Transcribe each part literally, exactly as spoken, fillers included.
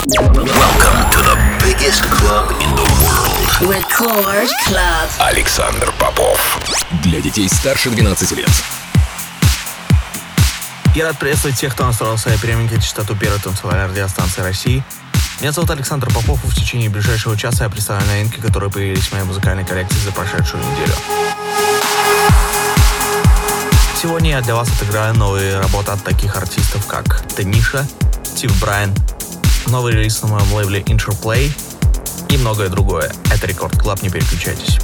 Welcome to the biggest club in the world. Record Club. Александр Попов. Для детей старше двенадцати лет. Я рад приветствовать тех, кто настроил свои приемники на частоту первой танцевальной радиостанции России. Меня зовут Александр Попов, и в течение ближайшего часа я представлю новинки, которые появились в моей музыкальной коллекции за прошедшую неделю. Сегодня я для вас отыграю новые работы от таких артистов, как Таниша, Стив Брайан, новый релиз на моем лейбле Interplay и многое другое. Это Рекорд Клаб, не переключайтесь.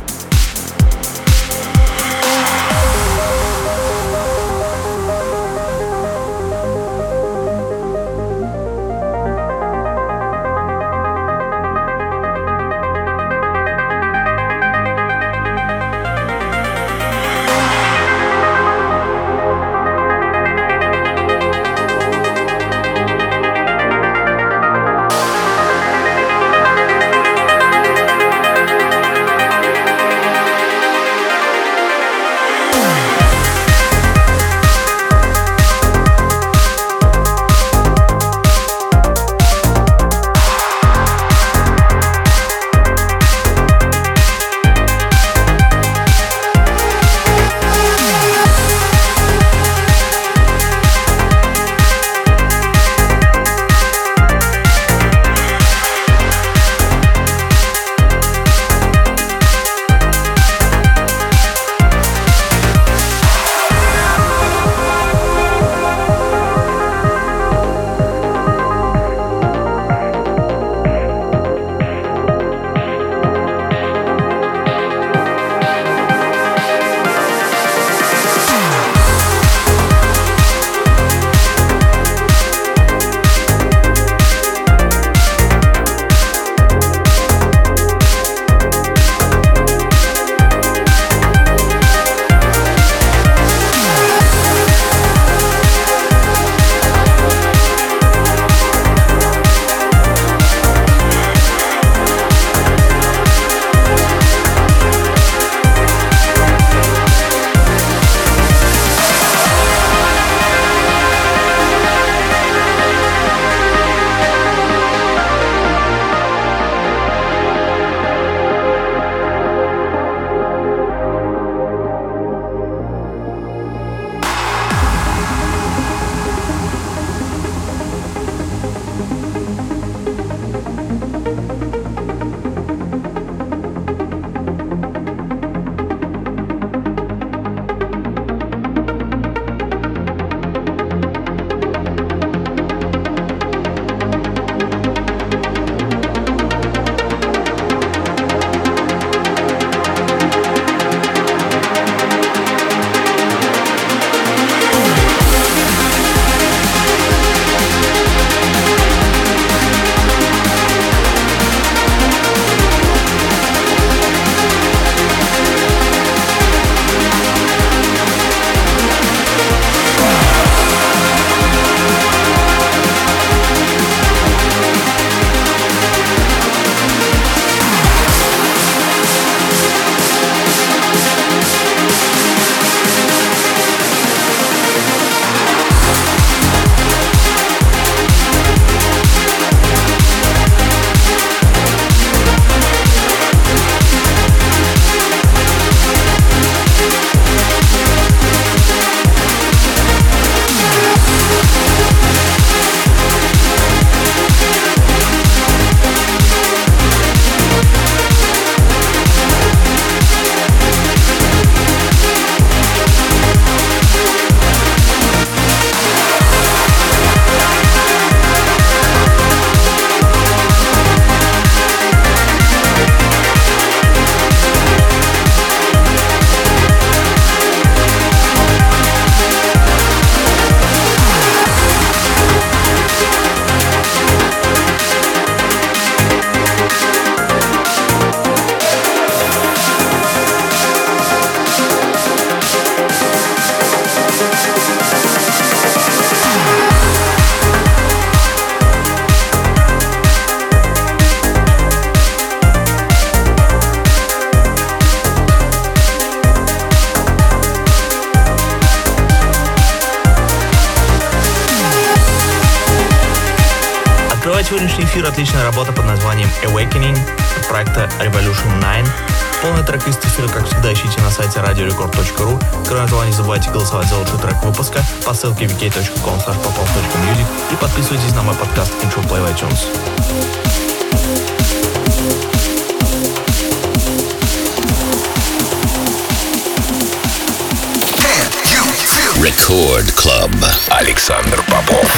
Открывает сегодняшний эфир отличная работа под названием Awakening от проекта Revolution девять. Полный трек из эфира, как всегда, ищите на сайте радио рекорд точка ру. Кроме того, не забывайте голосовать за лучший трек выпуска по ссылке ви кей точка ком слэш попов точка мьюзик и подписывайтесь на мой подкаст Intro Play в iTunes. Record Club. Александр Попов.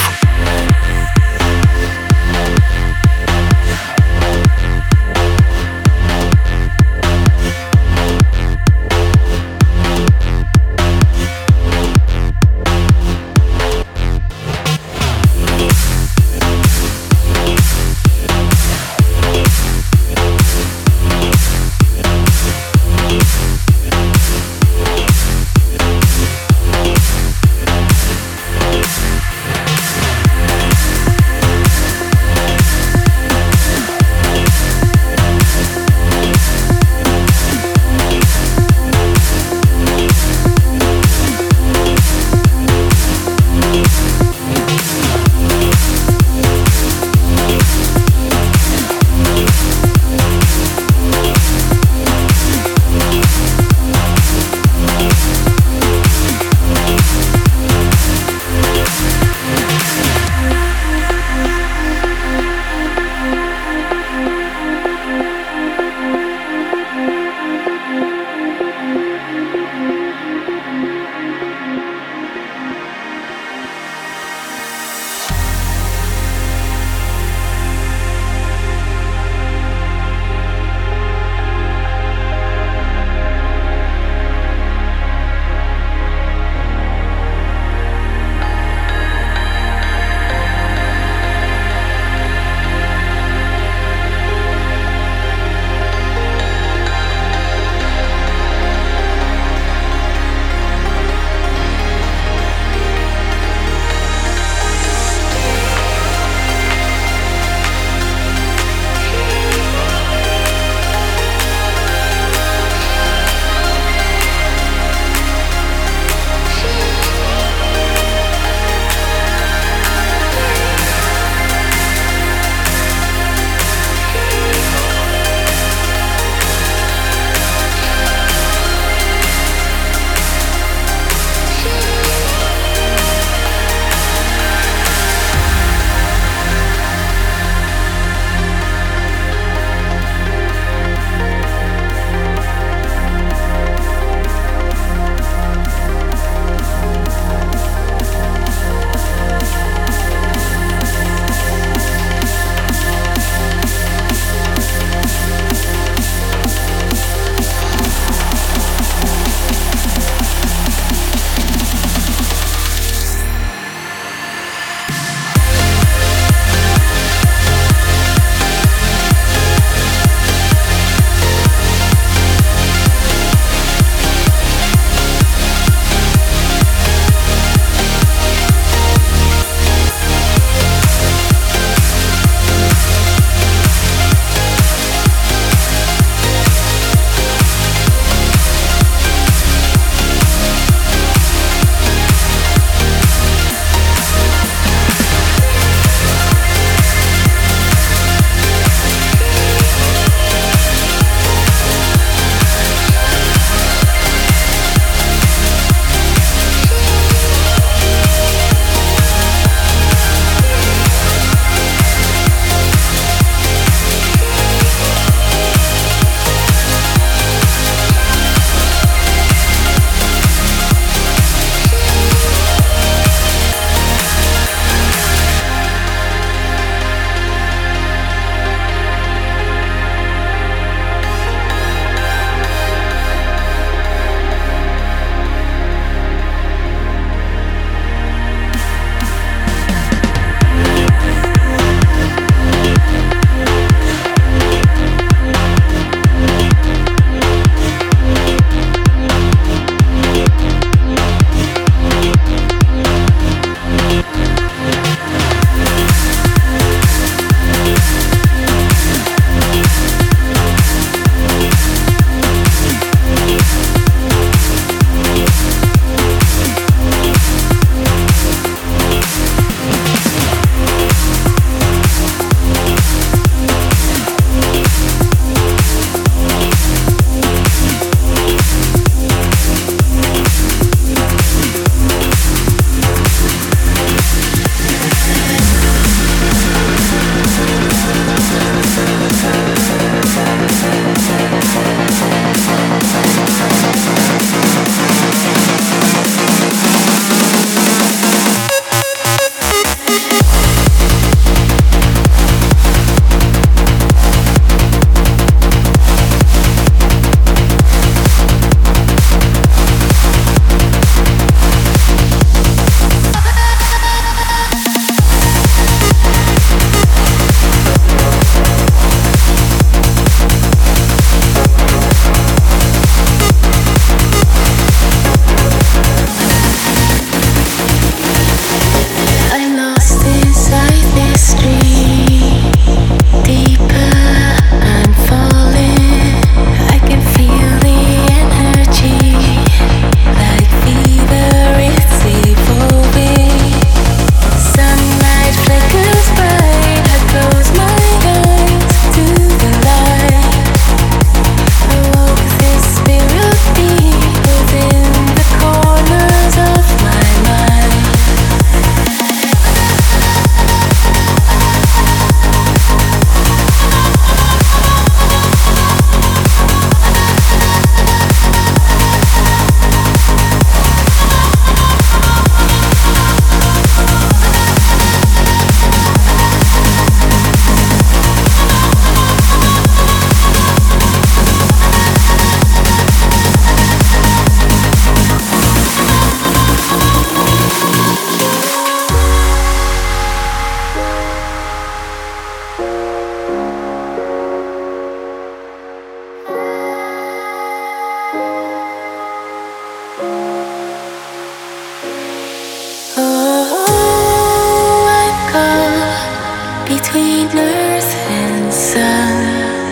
between earth and sun.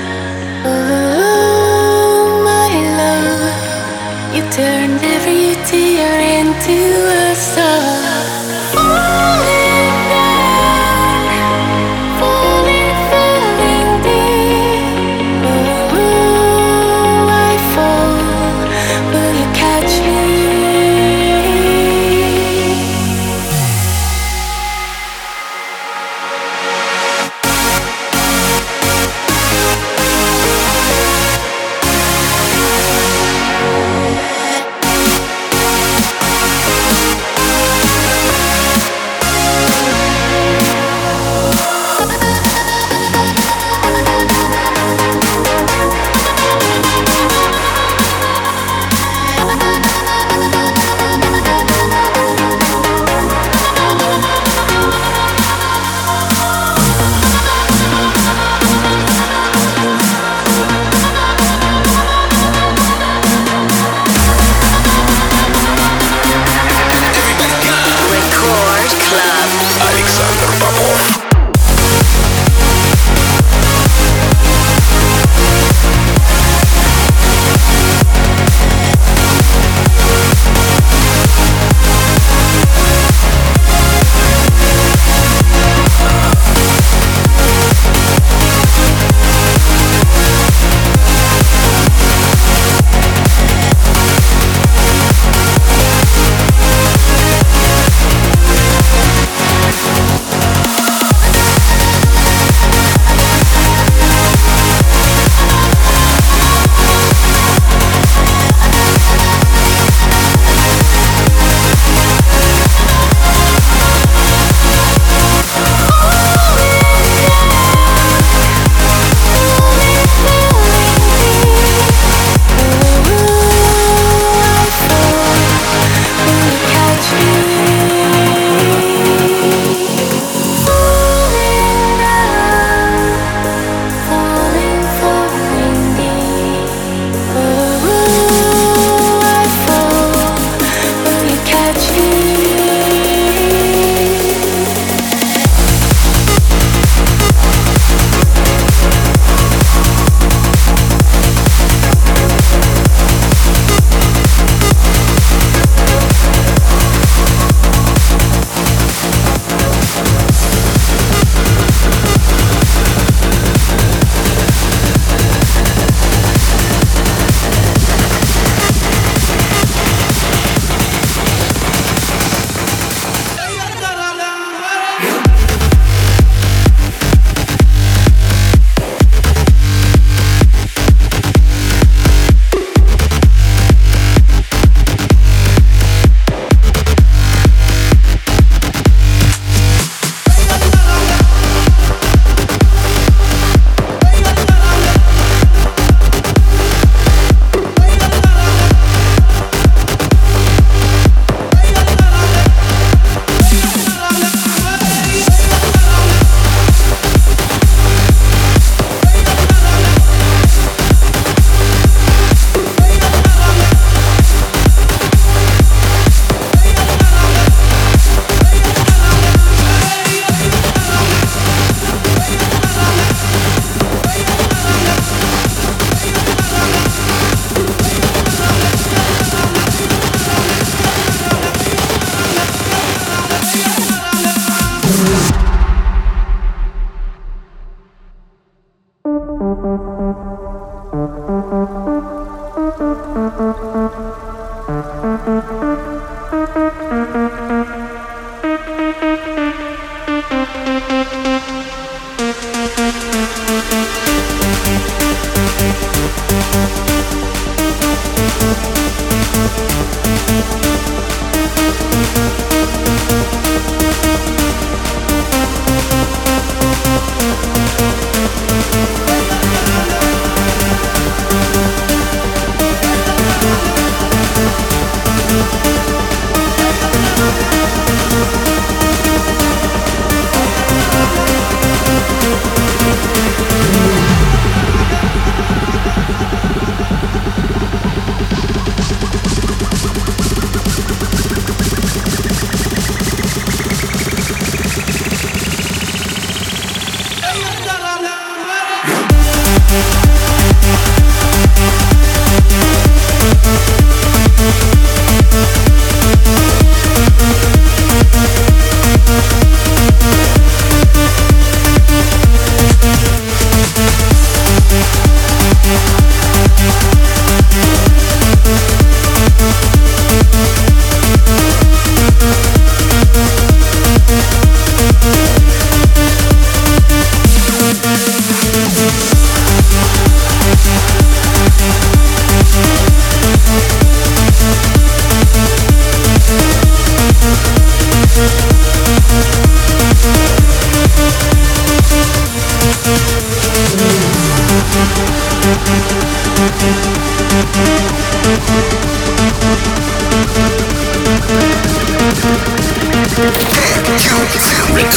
Oh, my love, you turned every tear into a song. Falling down, falling, falling deep. Oh, I fall, will you catch me?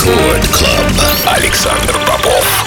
Рекорд Клаб. Александр Попов.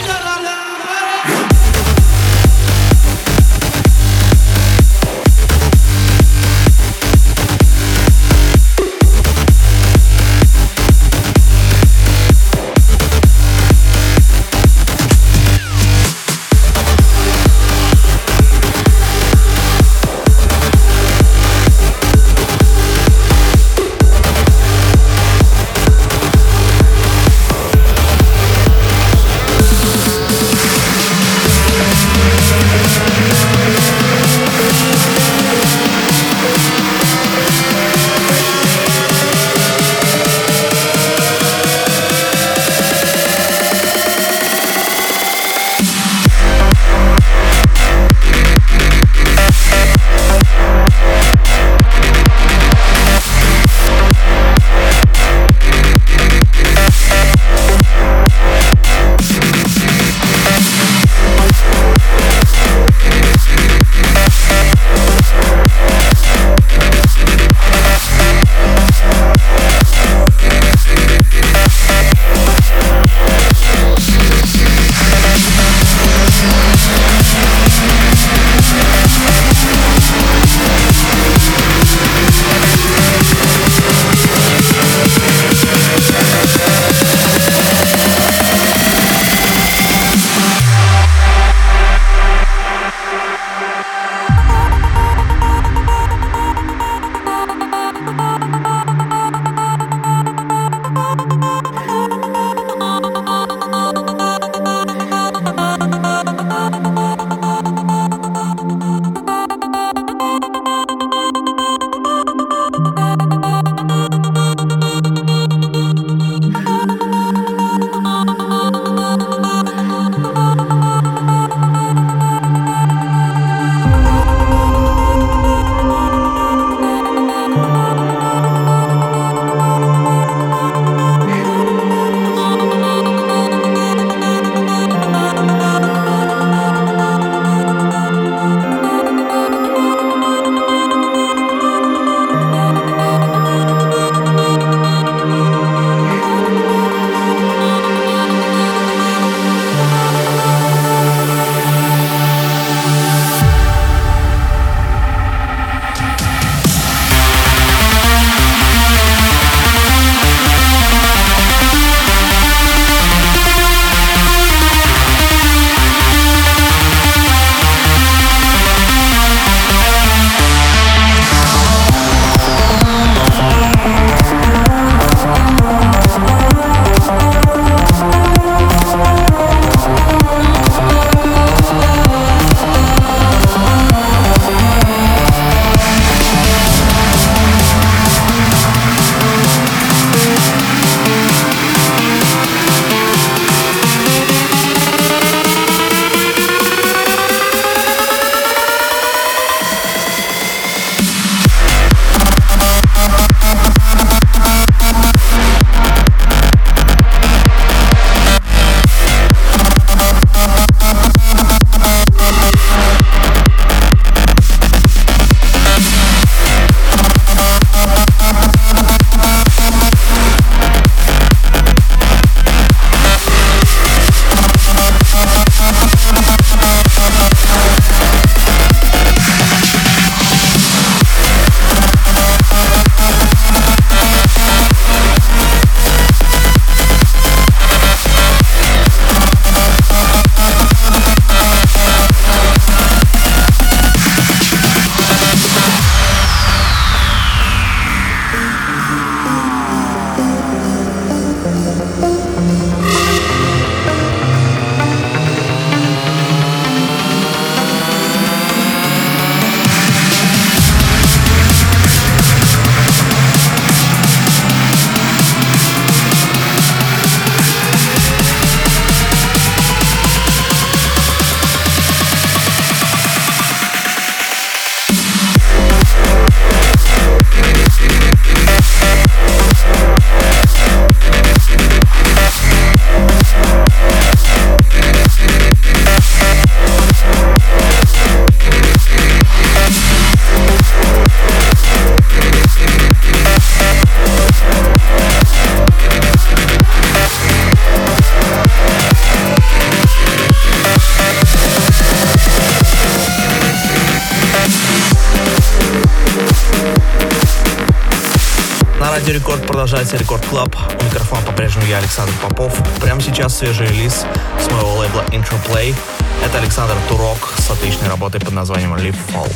Радио Рекорд продолжается Рекорд Клаб. У микрофона по-прежнему я, Александр Попов. Прямо сейчас свежий релиз с моего лейбла Interplay. Это Александр Турок с отличной работой под названием Live Fall.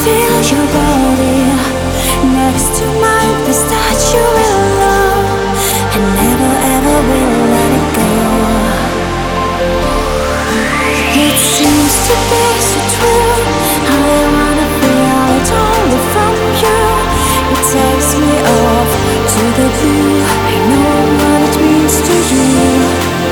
feel your body next to mine. This touch you will love, and never ever will let it go. It seems to be so true. I wanna feel it only from you. It takes me off to the blue. I know what it means to you.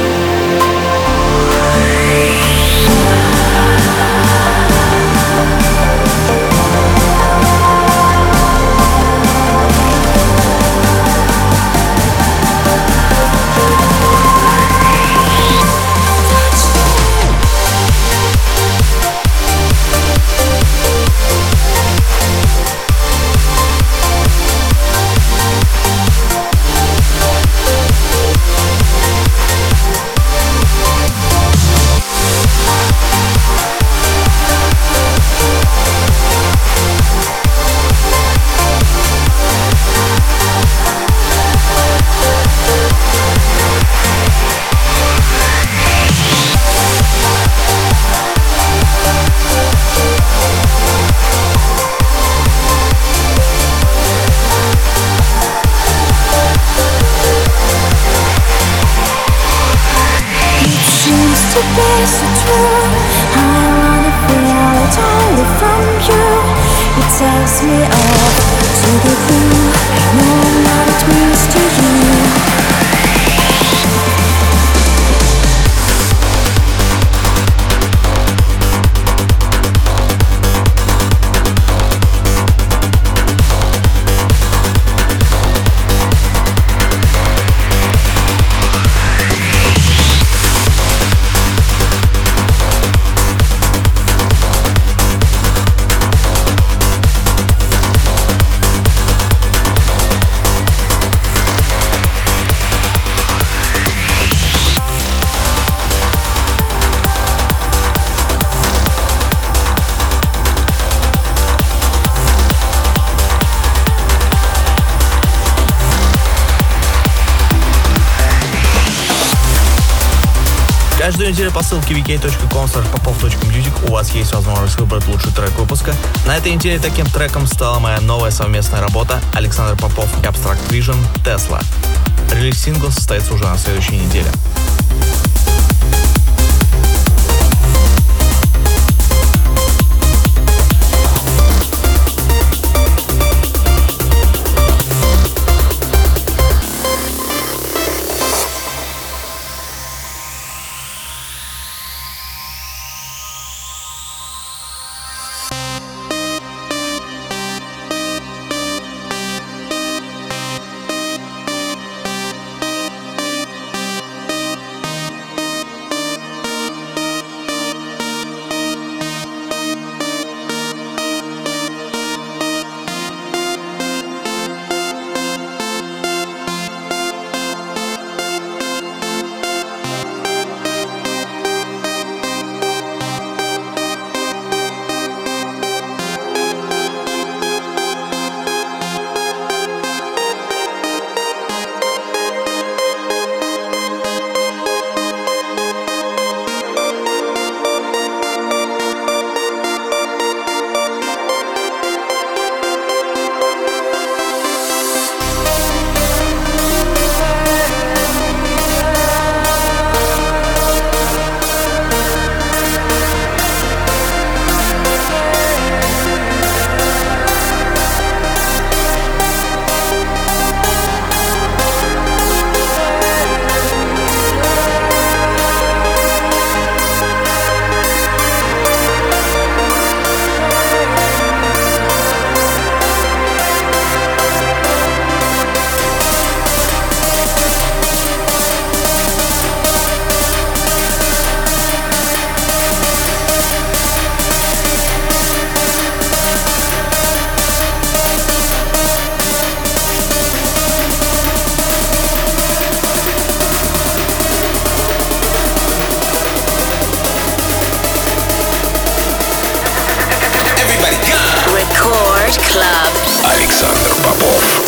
Takes me off to the blue. I know what it means to you. Каждую неделю по ссылке ви кей точка ком слэш попов точка мьюзик у вас есть возможность выбрать лучший трек выпуска. На этой неделе таким треком стала моя новая совместная работа Александр Попов и Abstract Vision «Tesla». Релиз сингла состоится уже на следующей неделе. Александр Попов.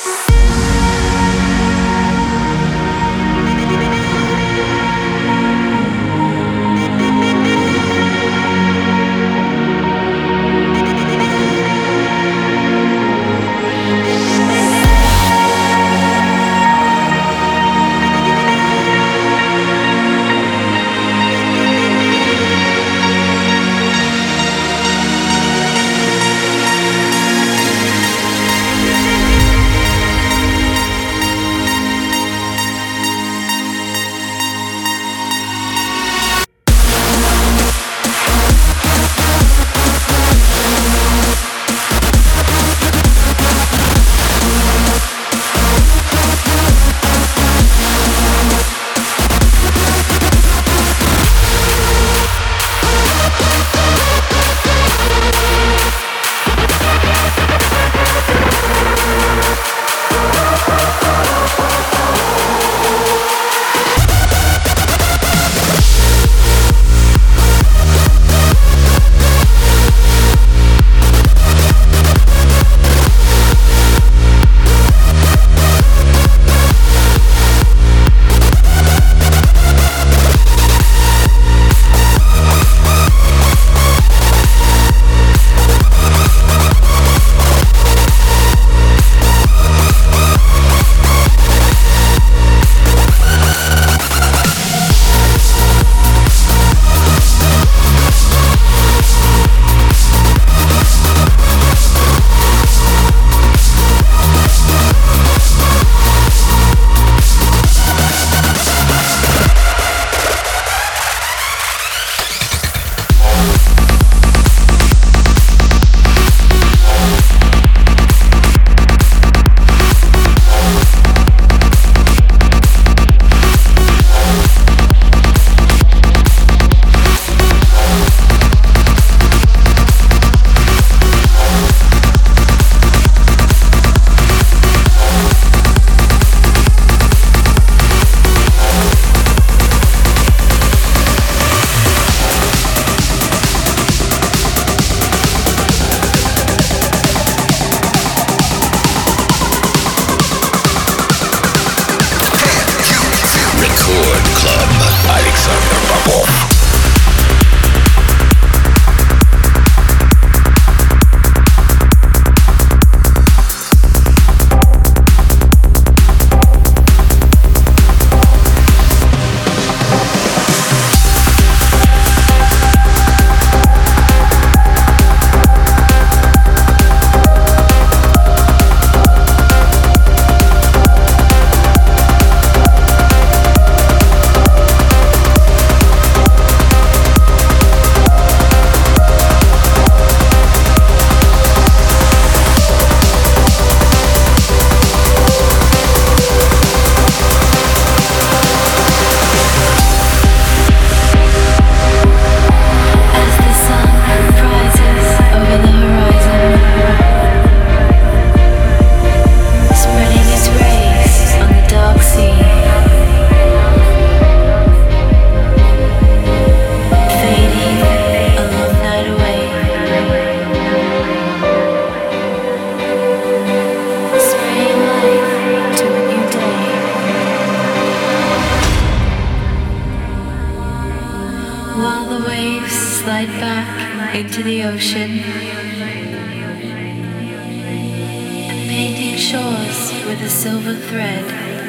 into the ocean, painting shores with a silver thread.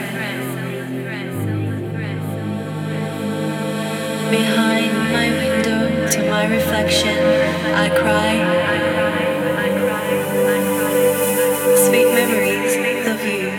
Behind my window to my reflection, I cry. Sweet memories of you.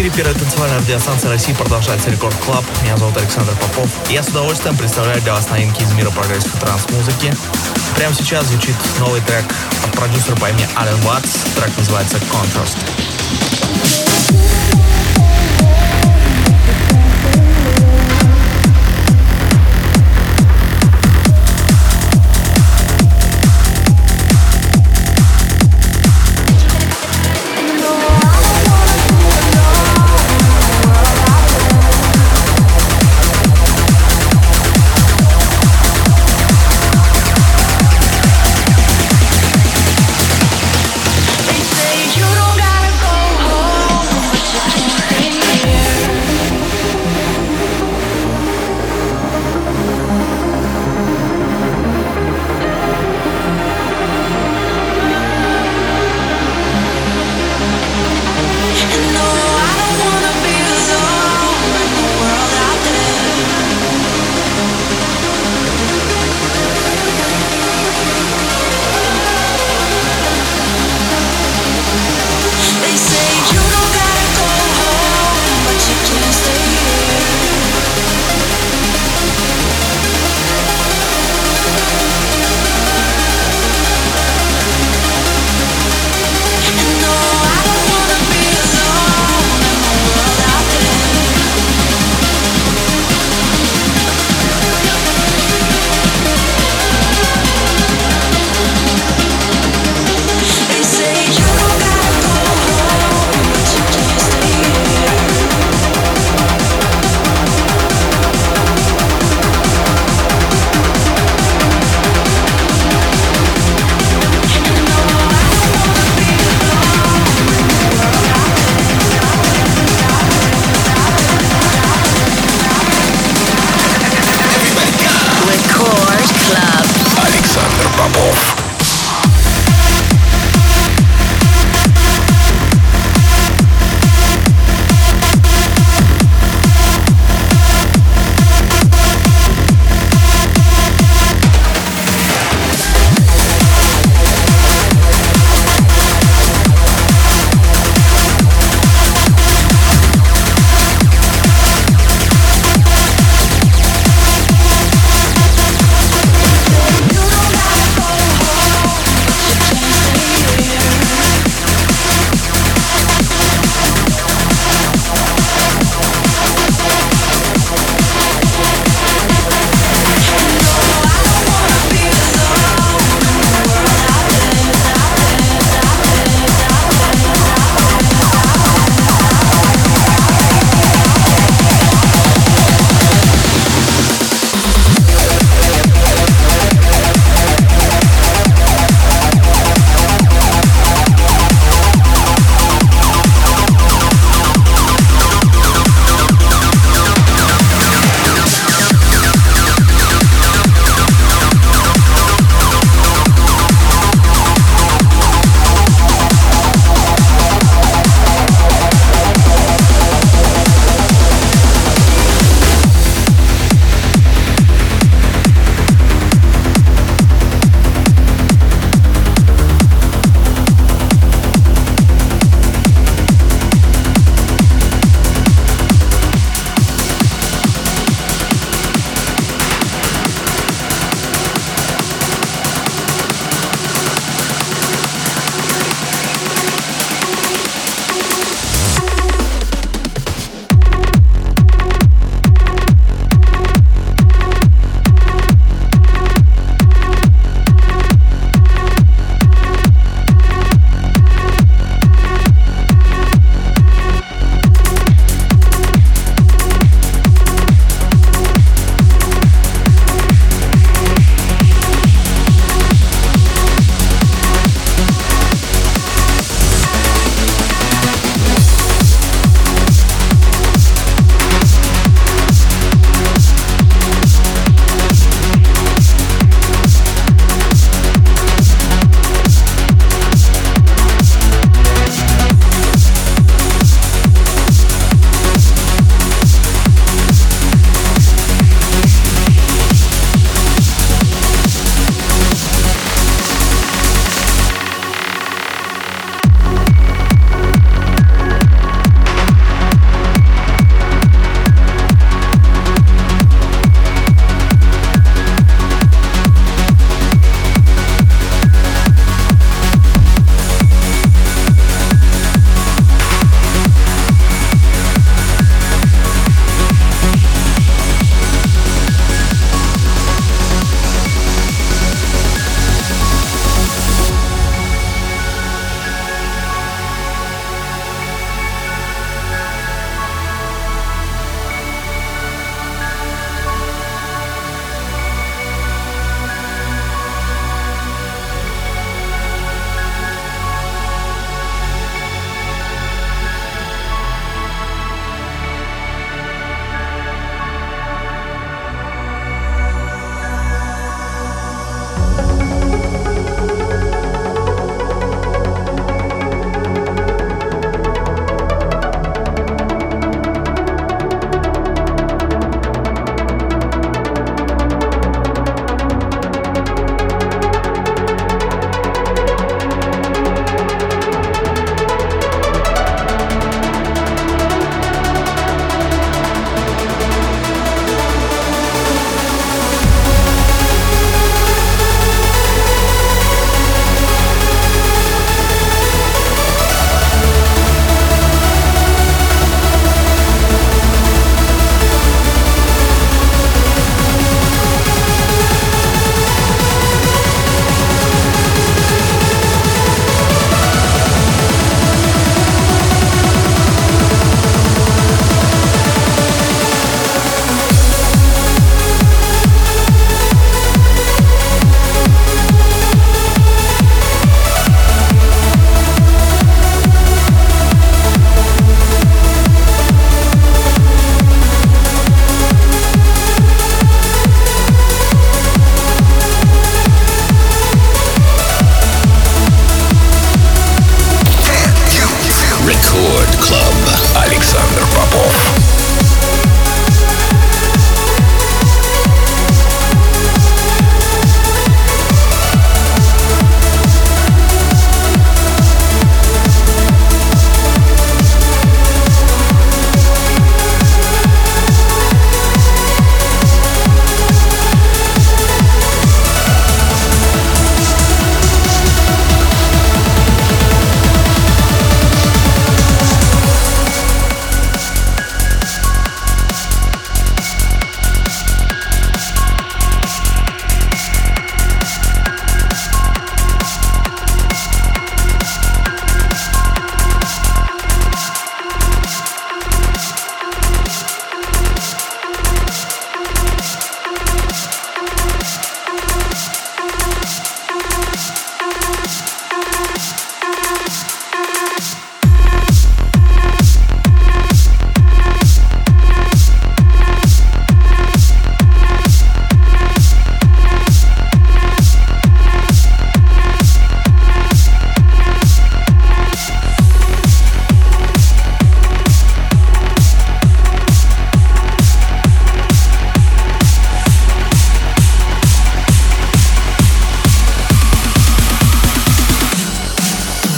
эфире первой танцевальной радиостанции России продолжается Рекорд Клаб. Меня зовут Александр Попов. Я с удовольствием представляю для вас новинки из мира прогрессив и транс-музыки. Прямо сейчас звучит новый трек от продюсера по имени Ален Ватс. Трек называется «Contrast». They say you don't gotta go home, but you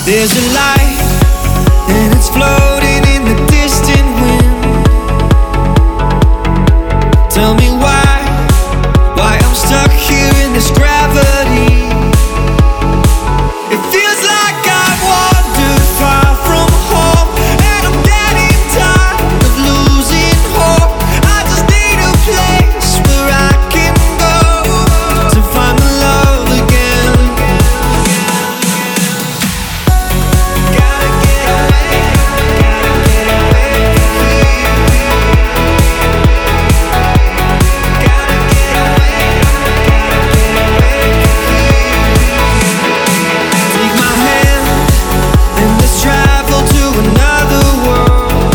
There's a light, and it's floating in the distant wind. Tell me why, why I'm stuck here in this gravity. It feels like I've wandered far from home, and I'm getting tired of losing hope. I just need a place where I can go to find the love again. Gotta get away, gotta get away from here. Gotta get away, gotta get away from here. Take my hand and let's travel to another world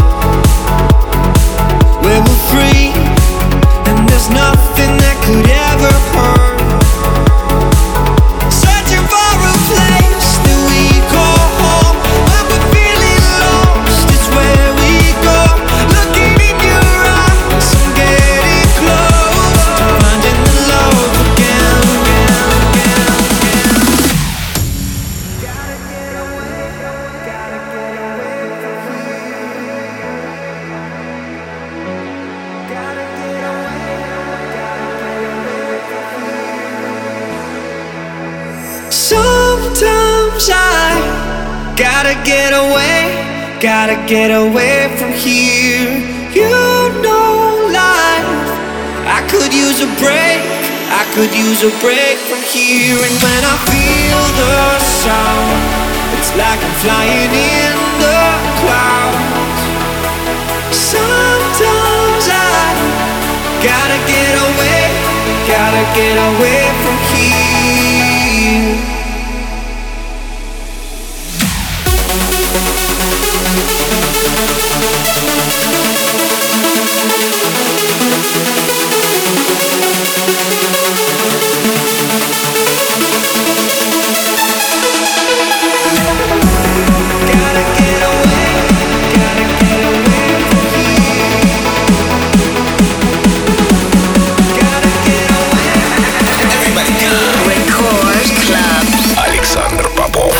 where we're free and there's nothing that could ever hurt. Searching for a place that we call home. When we're feeling lost, it's where we go. Looking in your eyes, I'm getting close to finding the love again. Gotta get away, gotta get away from here. Gotta get away, gotta get away from here. Sometimes I gotta get away, gotta get away from here. You know life, I could use a break, I could use a break from here. And when I feel the sound, it's like I'm flying in the clouds. Sometimes I gotta get away, gotta get away from here. Gotta get away, gotta get away from here. Gotta get away. Record Club. Александр Попов.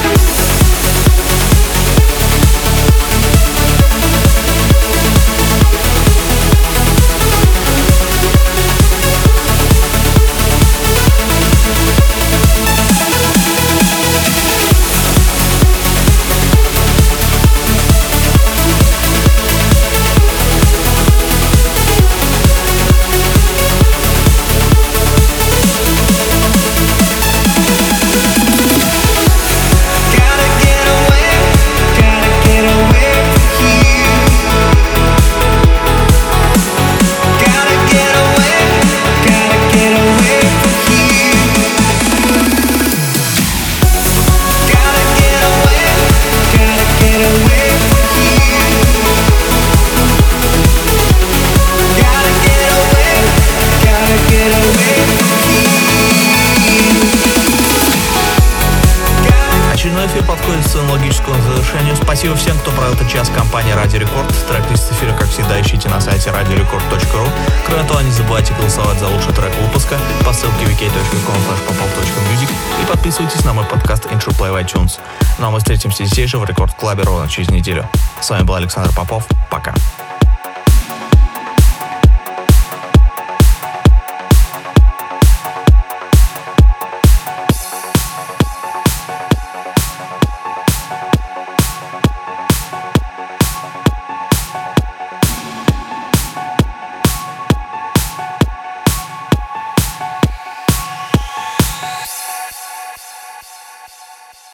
Gotta get away, gotta get away from here. Gotta get away, gotta get away from here. Gotta get away, gotta get away from here. Gotta get away, gotta get away from here. Очередной эфир подходит к своему логическому завершению. Спасибо всем, кто провел этот час в компании Радио Рекорд. Трек-лист эфира, как всегда, ищите на сайте радиорекорд точка ру. Кроме того, не забывайте голосовать за лучший трек выпуска по ссылке ви кей точка ком слэш попов точка мьюзик и подписывайтесь на мой подкаст Interplay в iTunes. Ну а мы встретимся здесь же в Рекорд Клабе ровно через неделю. С вами был Александр Попов. Пока.